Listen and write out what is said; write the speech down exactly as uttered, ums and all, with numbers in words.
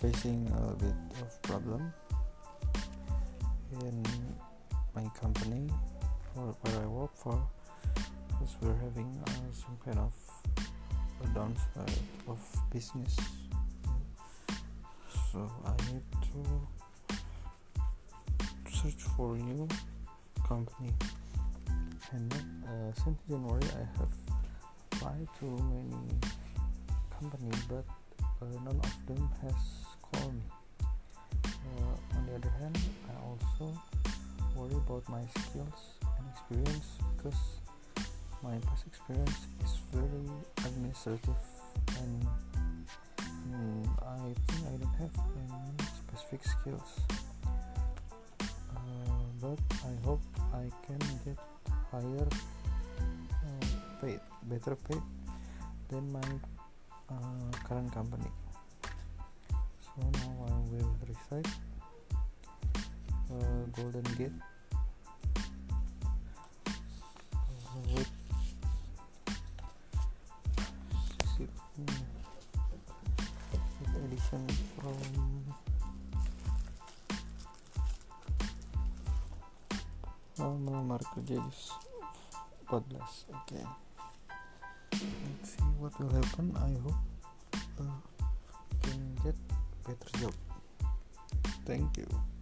facing a bit of problem in my company for where I work for, because we're having uh, some kind of a downside of business. So I need to search for a new company, and uh, since January I have applied to many companies, but uh, none of them has called me. Uh, on the other hand, I also worry about my skills and experience, because my past experience is very administrative, and mm, I think I don't have any specific skills. Uh, but I hope I can get higher, uh, paid, better paid than my uh, current company. So now I will recite uh, Golden Gate uh, with with edition from uh, melamar kerja empat belas. Okay, let's see what will happen. I hope uh, can get better job. Thank you.